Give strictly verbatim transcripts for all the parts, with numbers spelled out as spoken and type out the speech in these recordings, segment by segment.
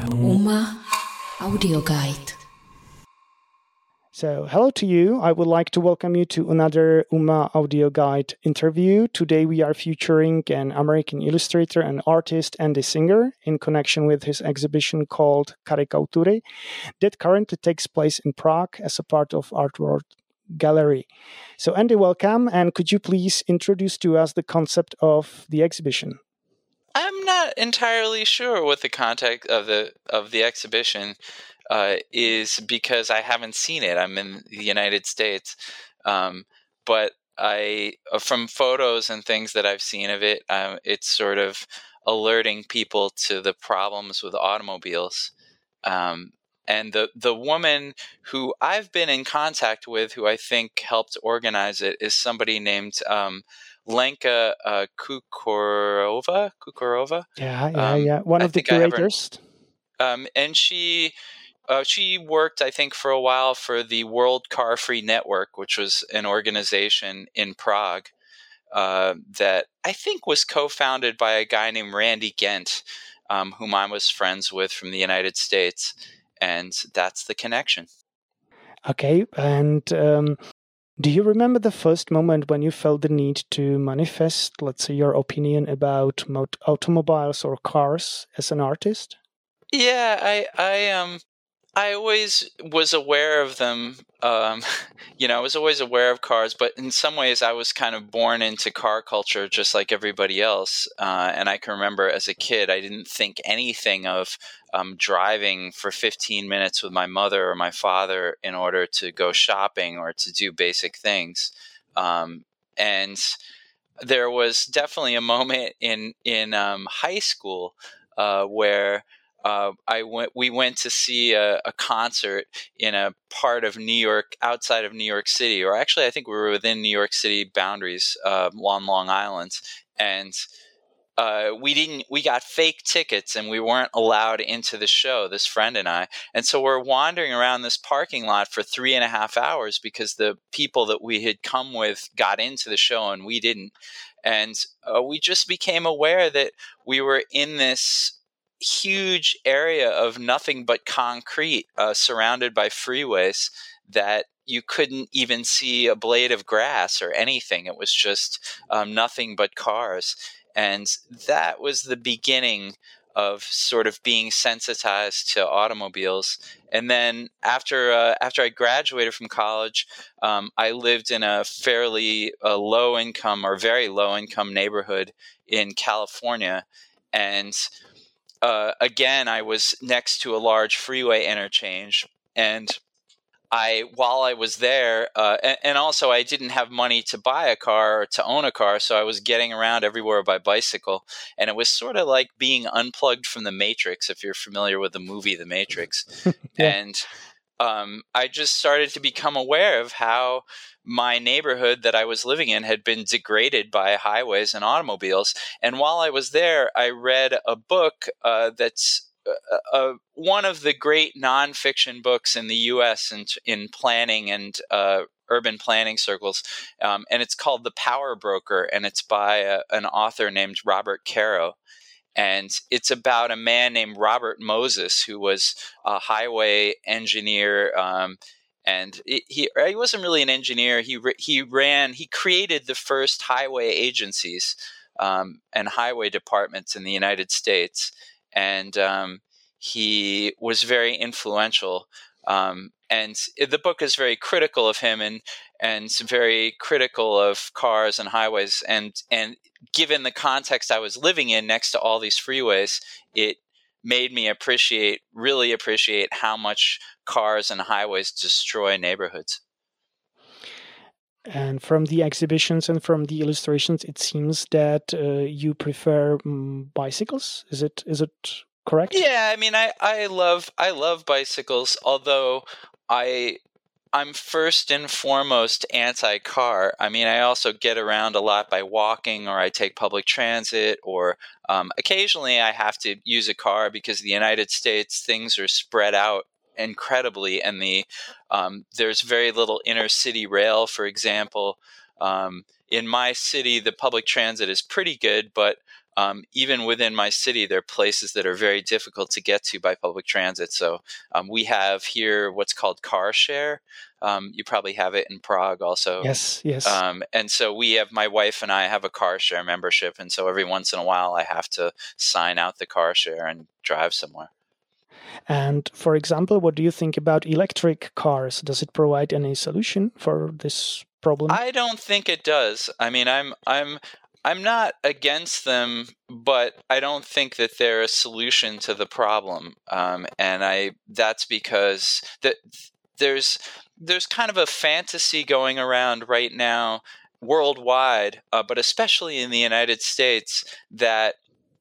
Uma Audio Guide. So, hello to you. I would like to welcome you to another Uma Audio Guide interview. Today we are featuring an American illustrator and artist, Andy Singer, in connection with his exhibition called Karikatury that currently takes place in Prague as a part of Art World Gallery. So, Andy, welcome, and could you please introduce to us the concept of the exhibition? I'm not entirely sure what the context of the of the exhibition uh, is because I haven't seen it. I'm in the United States, um, but I from photos and things that I've seen of it, um, it's sort of alerting people to the problems with automobiles. Um, and the the woman who I've been in contact with, who I think helped organize it, is somebody named um, Lenka uh, Kukurova. Kukurova. Yeah, yeah, Um, yeah. One I of the think I have her- curators. Um, and she uh, she worked, I think, for a while for the World Car Free Network, which was an organization in Prague uh, that I think was co-founded by a guy named Randy Gent, um, whom I was friends with from the United States. And that's the connection. Okay, and um, do you remember the first moment when you felt the need to manifest, let's say, your opinion about mot- automobiles or cars as an artist? Yeah, I, I, um, I always was aware of them. Um, you know, I was always aware of cars, but in some ways I was kind of born into car culture just like everybody else. Uh, and I can remember as a kid, I didn't think anything of um, driving for fifteen minutes with my mother or my father in order to go shopping or to do basic things. Um, and there was definitely a moment in, in um, high school uh, where Uh, I went. We went to see a, a concert in a part of New York, outside of New York City, or actually, I think we were within New York City boundaries uh, on Long Island, and uh, we didn't. We got fake tickets, and we weren't allowed into the show. This friend and I, and so we're wandering around this parking lot for three and a half hours because the people that we had come with got into the show and we didn't, and uh, we just became aware that we were in this huge area of nothing but concrete, uh, surrounded by freeways that you couldn't even see a blade of grass or anything. It was just um, nothing but cars. And that was the beginning of sort of being sensitized to automobiles. And then after uh, after I graduated from college, um, I lived in a fairly uh, low income or very low income neighborhood in California. And Uh, again, I was next to a large freeway interchange, and I, while I was there, uh, and, and also I didn't have money to buy a car or to own a car, so I was getting around everywhere by bicycle, and it was sort of like being unplugged from the Matrix, if you're familiar with the movie The Matrix. Yeah. And um, I just started to become aware of how my neighborhood that I was living in had been degraded by highways and automobiles. And while I was there, I read a book uh, that's uh, uh, one of the great nonfiction books in the U S in, in planning and uh, urban planning circles. Um, and it's called The Power Broker, and it's by a, an author named Robert Caro. And it's about a man named Robert Moses, who was a highway engineer. Um, and it, he he wasn't really an engineer. He he ran, he created the first highway agencies um, and highway departments in the United States. And um, he was very influential. Um, and the book is very critical of him and and very critical of cars and highways. And and given the context I was living in next to all these freeways, it made me appreciate, really appreciate how much cars and highways destroy neighborhoods. And from the exhibitions and from the illustrations, it seems that uh, you prefer um, bicycles. Is it is it correct? Yeah, I mean, I, I love I love bicycles, although I I'm first and foremost anti-car. I mean, I also get around a lot by walking, or I take public transit, or um, occasionally I have to use a car because the United States, things are spread out incredibly, and the um, there's very little inner city rail, for example. Um, in my city, the public transit is pretty good, but um, even within my city, there are places that are very difficult to get to by public transit. So um, we have here what's called car share. Um, you probably have it in Prague also. Yes, yes. Um, and so we have, my wife and I have a car share membership. And so every once in a while I have to sign out the car share and drive somewhere. And for example, what do you think about electric cars? Does it provide any solution for this problem? I don't think it does. I mean, I'm I'm I'm not against them, but I don't think that they're a solution to the problem. Um, and I that's because that there's there's kind of a fantasy going around right now worldwide, uh, but especially in the United States, that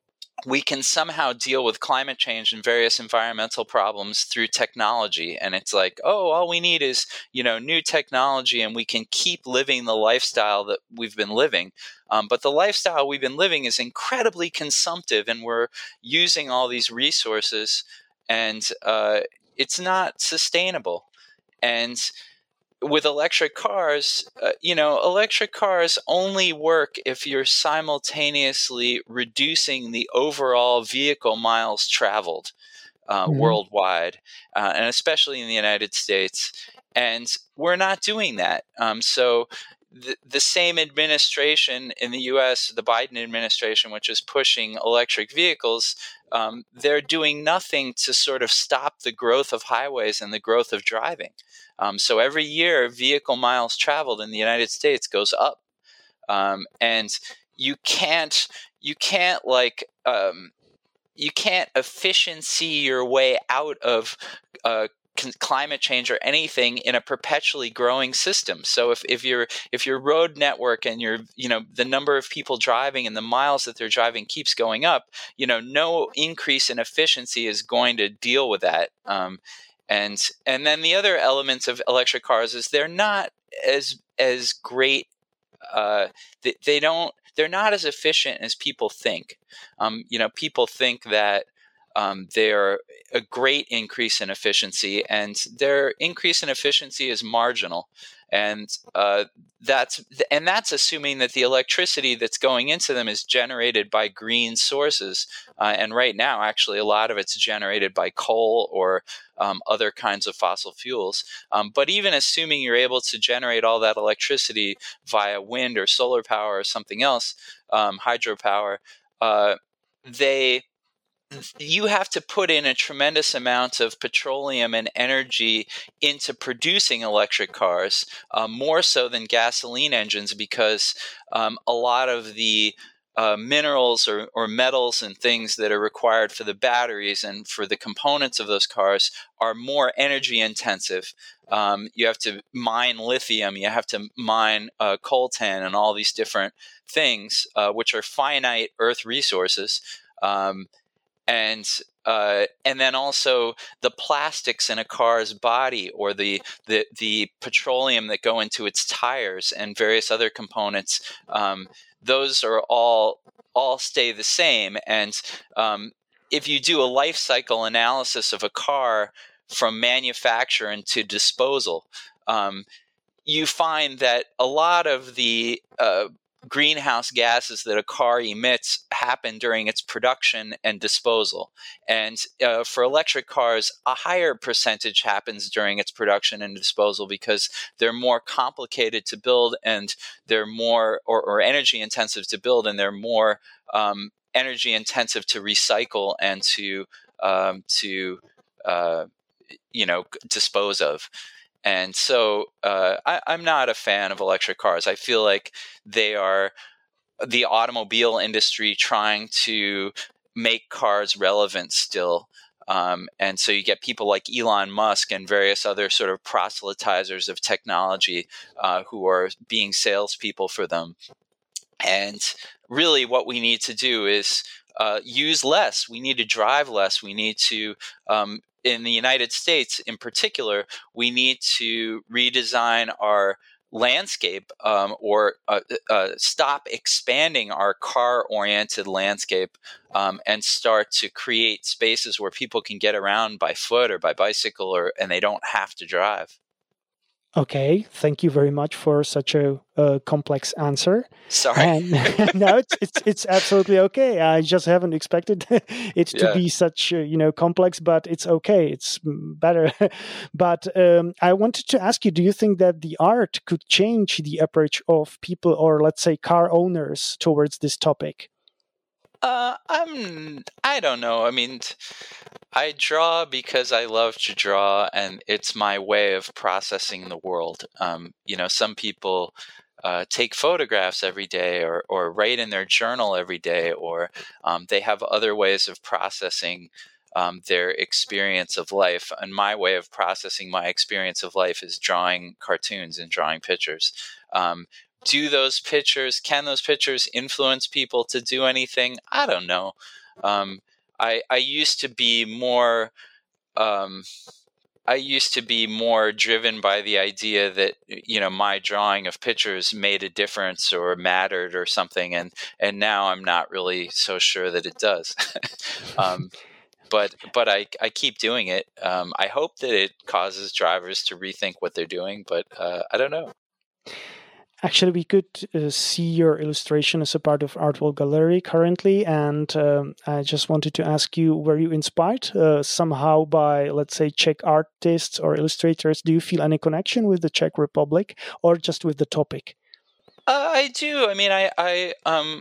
we can somehow deal with climate change and various environmental problems through technology. And it's like, oh, all we need is, you know, new technology and we can keep living the lifestyle that we've been living. Um, but the lifestyle we've been living is incredibly consumptive, and we're using all these resources, and uh, it's not sustainable. And with electric cars, uh, you know, electric cars only work if you're simultaneously reducing the overall vehicle miles traveled uh, mm-hmm. worldwide, uh, and especially in the United States. And we're not doing that. Um, so the, the same administration in the U S, the Biden administration, which is pushing electric vehicles, um, they're doing nothing to sort of stop the growth of highways and the growth of driving. Um, so every year, vehicle miles traveled in the United States goes up, um, and you can't you can't like um, you can't efficiency your way out of uh, climate change or anything in a perpetually growing system. So if, if your if your road network and your you know the number of people driving and the miles that they're driving keeps going up, you know no increase in efficiency is going to deal with that. Um, And and then the other elements of electric cars is they're not as as great. Uh, they, they don't. They're not as efficient as people think. Um, you know, people think that um, they're a great increase in efficiency, and their increase in efficiency is marginal. And uh, that's and that's assuming that the electricity that's going into them is generated by green sources. Uh, and right now, actually, a lot of it's generated by coal or um, other kinds of fossil fuels. Um, but even assuming you're able to generate all that electricity via wind or solar power or something else, um, hydropower, uh, they you have to put in a tremendous amount of petroleum and energy into producing electric cars, uh, more so than gasoline engines, because um, a lot of the uh, minerals or, or metals and things that are required for the batteries and for the components of those cars are more energy intensive. Um, you have to mine lithium, you have to mine uh, coltan and all these different things, uh, which are finite earth resources. Um, And uh, and then also the plastics in a car's body, or the, the the petroleum that go into its tires and various other components. Um, those are all all stay the same. And um, if you do a life cycle analysis of a car from manufacture into disposal, um, you find that a lot of the uh, greenhouse gases that a car emits happen during its production and disposal. And uh, for electric cars, a higher percentage happens during its production and disposal, because they're more complicated to build, and they're more or, or energy intensive to build, and they're more um, energy intensive to recycle and to um, to uh, you know dispose of. And so uh, I, I'm not a fan of electric cars. I feel like they are the automobile industry trying to make cars relevant still. Um, and so you get people like Elon Musk and various other sort of proselytizers of technology uh, who are being salespeople for them. And really what we need to do is uh, use less. We need to drive less. We need to um, in the United States, in particular, we need to redesign our landscape, um, or uh, uh, stop expanding our car-oriented landscape, um, and start to create spaces where people can get around by foot or by bicycle, or and they don't have to drive. Okay, thank you very much for such a, a complex answer. Sorry. And no, it's, it's it's absolutely okay. I just haven't expected it to Yeah. be such uh, you know complex, but it's okay. It's better. But um, I wanted to ask you: do you think that the art could change the approach of people, or let's say car owners, towards this topic? Uh, I'm. I don't know. I mean, I draw because I love to draw, and it's my way of processing the world. Um, you know, some people uh, take photographs every day, or or write in their journal every day, or um, they have other ways of processing um, their experience of life. And my way of processing my experience of life is drawing cartoons and drawing pictures. Um, do those pictures, can those pictures influence people to do anything? I don't know. Um, I, I used to be more, um, I used to be more driven by the idea that, you know, my drawing of pictures made a difference or mattered or something. And, and now I'm not really so sure that it does. um, but, but I, I keep doing it. Um, I hope that it causes drivers to rethink what they're doing, but uh, I don't know. Actually, we could uh, see your illustration as a part of Artwell Gallery currently, and um, I just wanted to ask you, were you inspired uh, somehow by, let's say, Czech artists or illustrators? Do you feel any connection with the Czech Republic, or just with the topic? Uh, I do. I mean, I, I, um,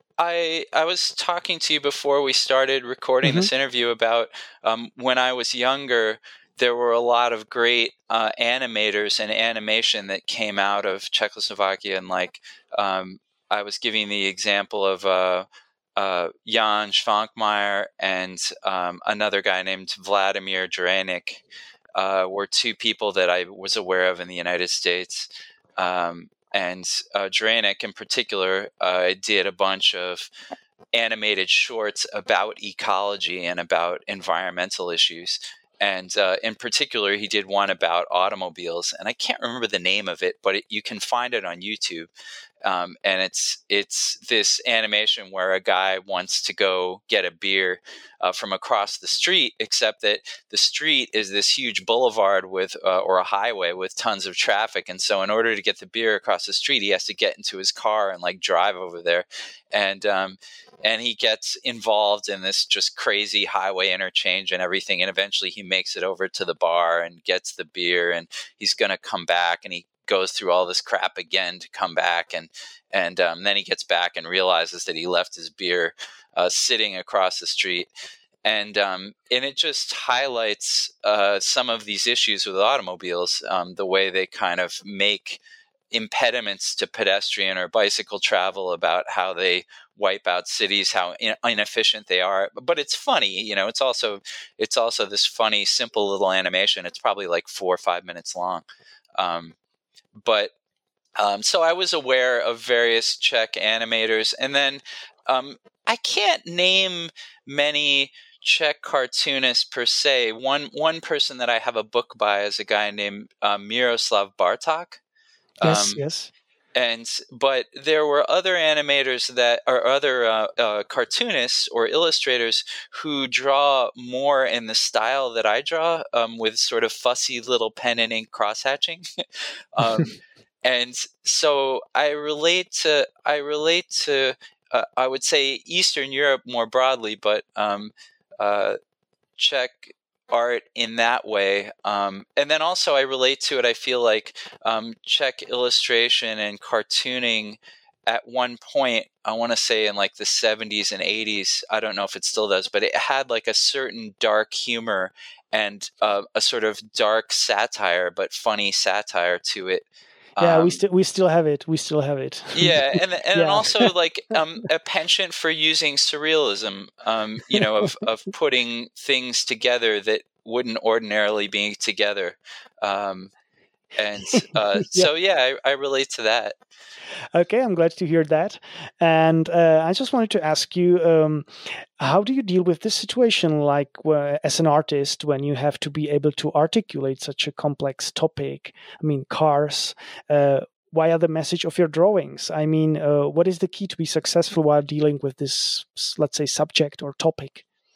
I, I was talking to you before we started recording mm-hmm. this interview about um, when I was younger. There were a lot of great uh, animators and animation that came out of Czechoslovakia. And like, um, I was giving the example of uh, uh, Jan Švankmajer and um, another guy named Vladimir Dranik uh, were two people that I was aware of in the United States. Um, and uh, Dranik in particular uh, did a bunch of animated shorts about ecology and about environmental issues. And uh, in particular, he did one about automobiles, and I can't remember the name of it, but it, you can find it on YouTube. Um, and it's it's this animation where a guy wants to go get a beer uh, from across the street, except that the street is this huge boulevard with uh, or a highway with tons of traffic. And so in order to get the beer across the street, he has to get into his car and like drive over there. And um, and he gets involved in this just crazy highway interchange and everything. And eventually he makes it over to the bar and gets the beer, and he's going to come back, and he goes through all this crap again to come back, and and um, then he gets back and realizes that he left his beer uh, sitting across the street, and um, and it just highlights uh, some of these issues with automobiles, um, the way they kind of make impediments to pedestrian or bicycle travel, about how they wipe out cities, how in- inefficient they are. But it's funny, you know. It's also it's also this funny, simple little animation. It's probably like four or five minutes long. Um, But um, so I was aware of various Czech animators, and then um, I can't name many Czech cartoonists per se. One one person that I have a book by is a guy named uh, Miroslav Bartok. Yes, um, yes. And but there were other animators that are other uh, uh, cartoonists or illustrators who draw more in the style that I draw, um, with sort of fussy little pen and ink crosshatching. um, and so I relate to I relate to uh, I would say Eastern Europe more broadly, but um, uh, Czech art in that way. Um, and then also I relate to it, I feel like um, Czech illustration and cartooning at one point, I want to say in like the seventies and eighties, I don't know if it still does, but it had like a certain dark humor and uh, a sort of dark satire, but funny satire to it. Yeah, Um, we still we still have it. We still have it. yeah, and and Yeah. also like um, a penchant for using surrealism. Um, you know, of of putting things together that wouldn't ordinarily be together. Um, and uh, Yeah. so yeah, I, I relate to that. Okay, I'm glad to hear that. And uh, I just wanted to ask you, um, how do you deal with this situation, like uh, as an artist, when you have to be able to articulate such a complex topic? I mean, cars. Uh, via the message of your drawings. I mean, uh, what is the key to be successful while dealing with this, let's say, subject or topic?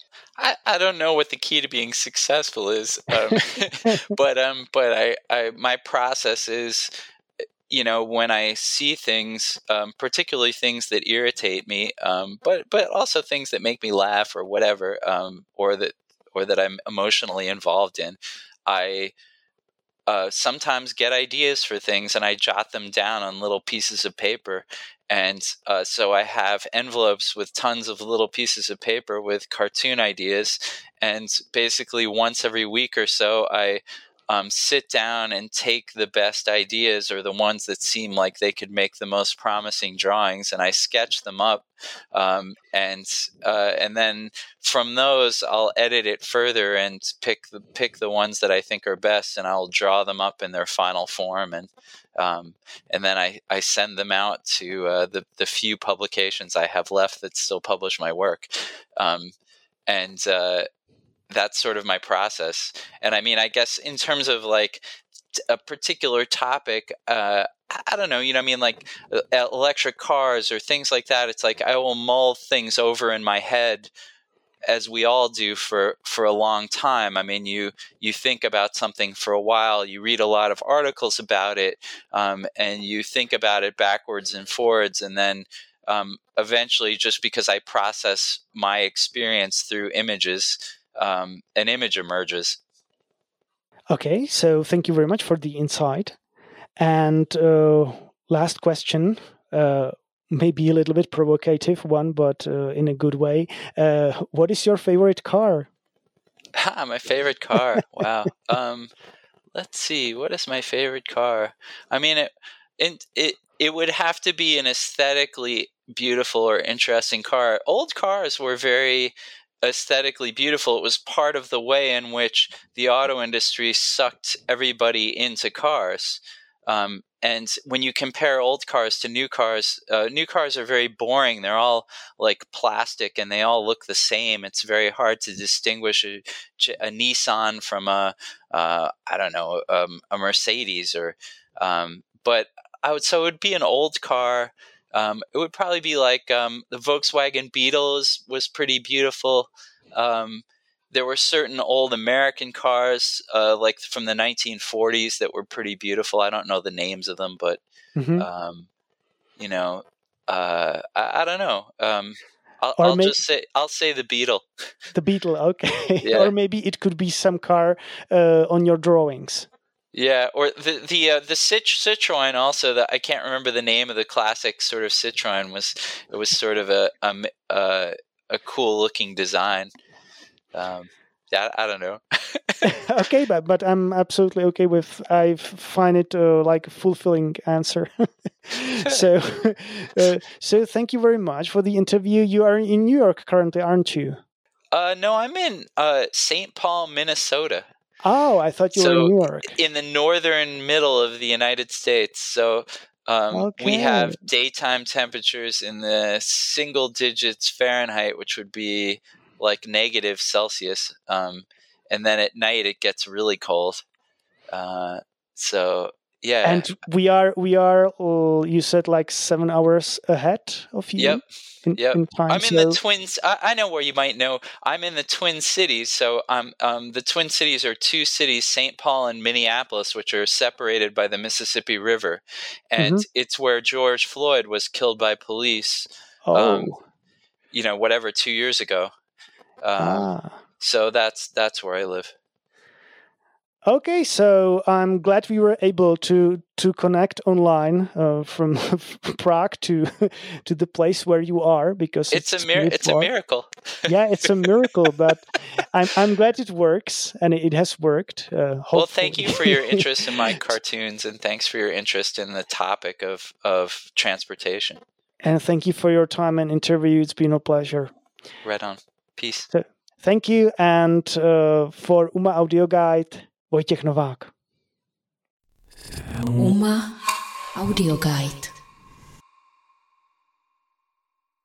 I, I don't know what the key to being successful is, um, but um, but I, I my process is, you know, when I see things, um, particularly things that irritate me, um, but but also things that make me laugh or whatever, um, or that or that I'm emotionally involved in, I uh, sometimes get ideas for things and I jot them down on little pieces of paper. And uh, so I have envelopes with tons of little pieces of paper with cartoon ideas. And basically once every week or so, I um, sit down and take the best ideas or the ones that seem like they could make the most promising drawings, and I sketch them up. Um, and uh, and then from those, I'll edit it further and pick the pick the ones that I think are best, and I'll draw them up in their final form. And Um, and then I, I send them out to uh, the, the few publications I have left that still publish my work. Um, and uh, that's sort of my process. And I mean, I guess in terms of like a particular topic, uh, I don't know, you know, I mean, like uh, electric cars or things like that. It's like I will mull things over in my head, as we all do for, for a long time. I mean, you you think about something for a while, you read a lot of articles about it, um, and you think about it backwards and forwards, and then um, eventually, just because I process my experience through images, um, an image emerges. Okay, so thank you very much for the insight. And uh, last question, uh, maybe a little bit provocative one, but uh, in a good way. Uh, what is your favorite car? Ah, my favorite car. Wow. um, let's see. What is my favorite car? I mean, it, it, it, it would have to be an aesthetically beautiful or interesting car. Old cars were very aesthetically beautiful. It was part of the way in which the auto industry sucked everybody into cars. Um, and when you compare old cars to new cars, uh, new cars are very boring. They're all like plastic and they all look the same. It's very hard to distinguish a, a Nissan from a, uh, I don't know, um, a Mercedes or, um, but I would, so it would be an old car. Um, it would probably be like um, the Volkswagen Beetle was, was pretty beautiful. Um, There were certain old American cars, uh, like from the nineteen forties, that were pretty beautiful. I don't know the names of them, but mm-hmm. um, you know, uh, I, I don't know. Um, I'll, I'll may- just say I'll say the Beetle. The Beetle, okay. Yeah. Or maybe it could be some car uh, on your drawings. Yeah, or the the uh, the Citroen also. That I can't remember the name of the classic sort of Citroen. Was it was sort of a a, a, a cool looking design. Um, yeah, I don't know. Okay, but but I'm absolutely okay with. I find it uh, like a fulfilling answer. so, uh, so thank you very much for the interview. You are in New York currently, aren't you? Uh, no, I'm in uh, Saint Paul, Minnesota. Oh, I thought you so were in New York. In the northern middle of the United States. So um, okay. we have daytime temperatures in the single digits Fahrenheit, which would be like negative Celsius. Um, and then at night it gets really cold. Uh, so yeah. And we are, we are, uh, you said like seven hours ahead of you. Yep. In, yep. in time, I'm so... in the Twins. I, I know where you might know. I'm in the Twin Cities. So um, um, the Twin Cities are two cities, Saint Paul and Minneapolis, which are separated by the Mississippi River. And mm-hmm. it's where George Floyd was killed by police, oh. um, you know, whatever, two years ago. Um, ah. So that's that's where I live. Okay, so I'm glad we were able to to connect online uh, from Prague to to the place where you are, because it's, it's a mir- it's a miracle. Yeah, it's a miracle, but I'm I'm glad it works, and it has worked. Uh, well, thank you for your interest in my cartoons, and thanks for your interest in the topic of of transportation. And thank you for your time and interview. It's been a pleasure. Right on. Peace. So, thank you, and uh, for UMA Audio Guide, Vojtěch Novák. UMA Audio Guide.